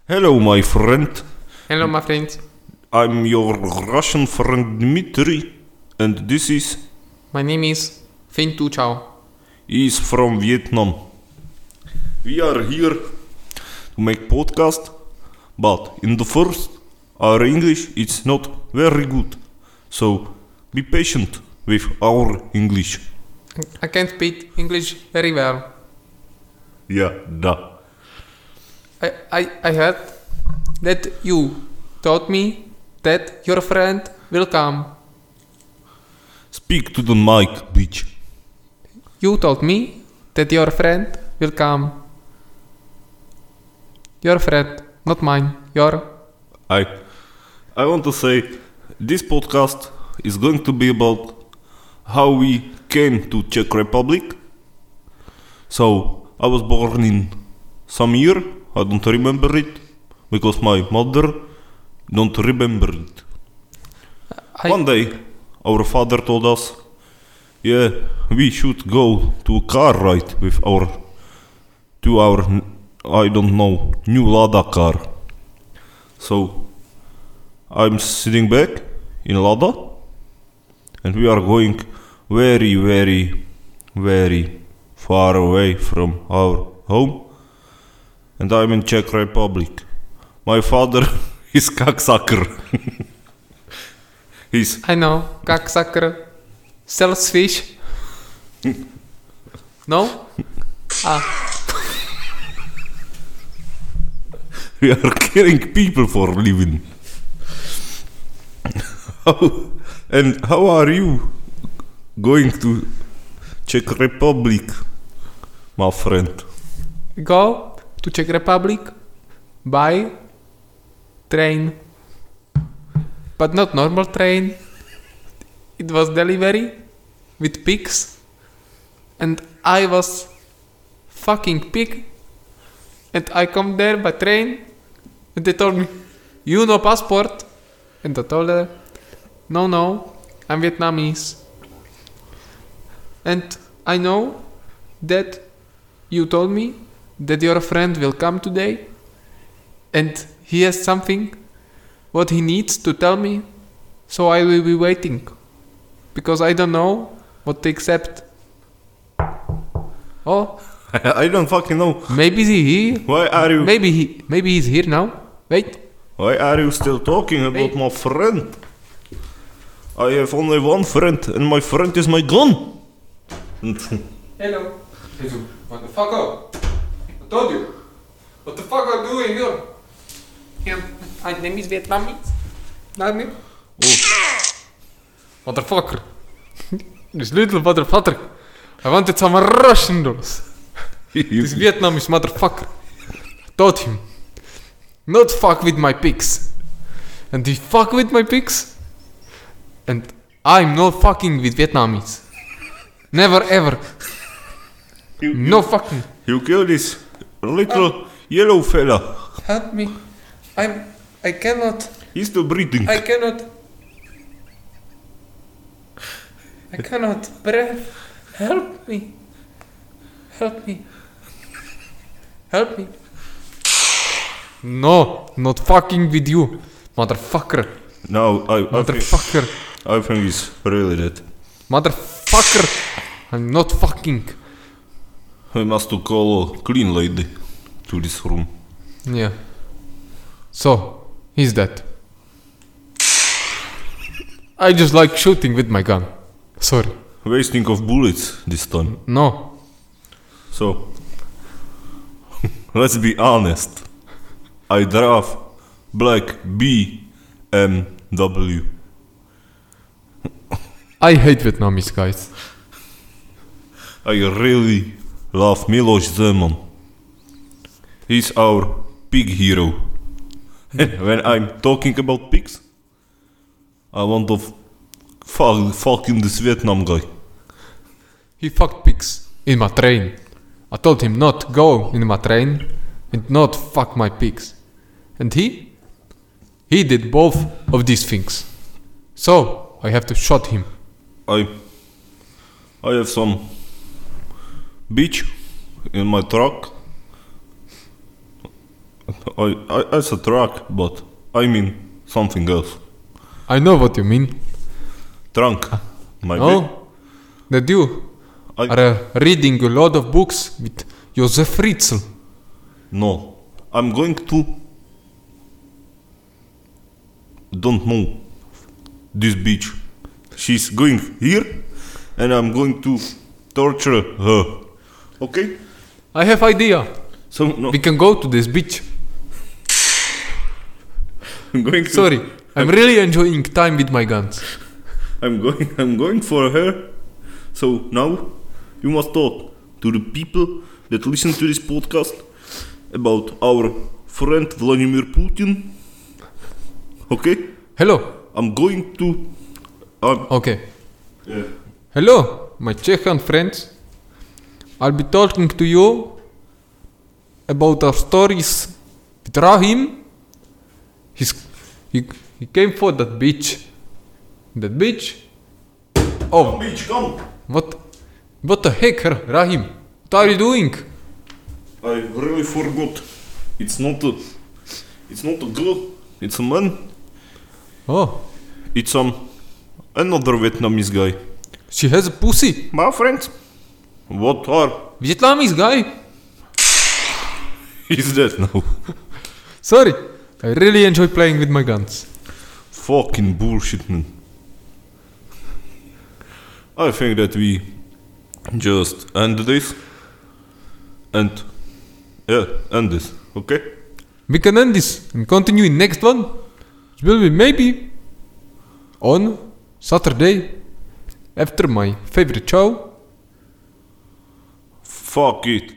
Hello, my friend. Hello, my friend. I'm your Russian friend Dmitry, and this is... My name is Finn Tu Chao. He is from Vietnam. We are here to make podcast, but in the first, our English is not very good, so be patient with our English. I can't speak English very well. Yeah, da. I heard that you told me that your friend will come. Speak to the mic, bitch. You told me that your friend will come. Your friend, not mine. Your. I want to say this podcast is going to be about how we came to Czech Republic. So I was born in some year, I don't remember it, because my mother don't remember it. One day our father told us, yeah, we should go to a car ride with our I don't know, new Lada car. So I'm sitting back in Lada and we are going very, very, very far away from our home, and I'm in Czech Republic. My father is cocksucker. I know, cocksucker sells fish. No? We are killing people for a living. How are you going to Czech Republic, my friend? Go to Czech Republic by train. But not normal train. It was delivery with pigs. And I was fucking pig. And I come there by train. And they told me, you no passport. And I told her, no, I'm Vietnamese. And I know that you told me that your friend will come today. And he has something what he needs to tell me. So I will be waiting. Because I don't know what to accept. Oh, I don't fucking know. maybe he. Why are you? Maybe he's here now. Wait. Why are you still talking about my friend? I have only one friend, and my friend is my gun. Hello. What the fuck up? I told you. What the fuck are you doing here? Yeah, my name is Vietnamese. Not me. Motherfucker. This little motherfucker. I wanted some Russian noodles. This Vietnamese motherfucker. I told him not fuck with my pigs. And he fuck with my pigs. And I'm not fucking with Vietnamese. Never ever. No fucking. You kill this little yellow fella. Help me. I cannot. He's still breathing. I cannot breathe. Help me. No, not fucking with you, motherfucker. No, I think he's really dead. Motherfucker. I'm not fucking. We must call a clean lady to this room. Yeah. So, he's dead. I just like shooting with my gun. Sorry. Wasting of bullets this time. No. So, let's be honest. I drive black BMW. I hate Vietnamese guys. I really love Miloš Zeman. He's our pig hero. When I'm talking about pigs, I want to fucking this Vietnam guy. He fucked pigs in my train. I told him not go in my train and not fuck my pigs. And he did both of these things. So I have to shoot him. I have some bitch in my truck I said truck, but I mean something else. I know what you mean. Trunk. Maybe. Oh, that you are reading a lot of books with Josef Fritzl. No. I'm going to... Don't know. This bitch. She's going here, and I'm going to torture her. Okay? I have idea. So, no. We can go to this beach. I'm going to... Sorry, I'm really enjoying time with my guns. I'm going for her. So now you must talk to the people that listen to this podcast about our friend Vladimir Putin. Okay? Hello. I'm going to... Okay. yeah. Hello, my Czechian friends. I'll be talking to you about our stories with Rahim. He came for that beach. That beach? Oh, Bitch, come! what the heck, Rahim? What are you doing? I really forgot. It's not a girl. It's a man. Oh, It's another Vietnamese guy. she has a pussy. My friends, what are... Vietnamese guy? is that now? Sorry, I really enjoy playing with my guns. Fucking bullshit, man. I think that we just end this. And end this, okay? We can end this and continue in next one. It will be maybe on Saturday after my favorite show. Fuck it.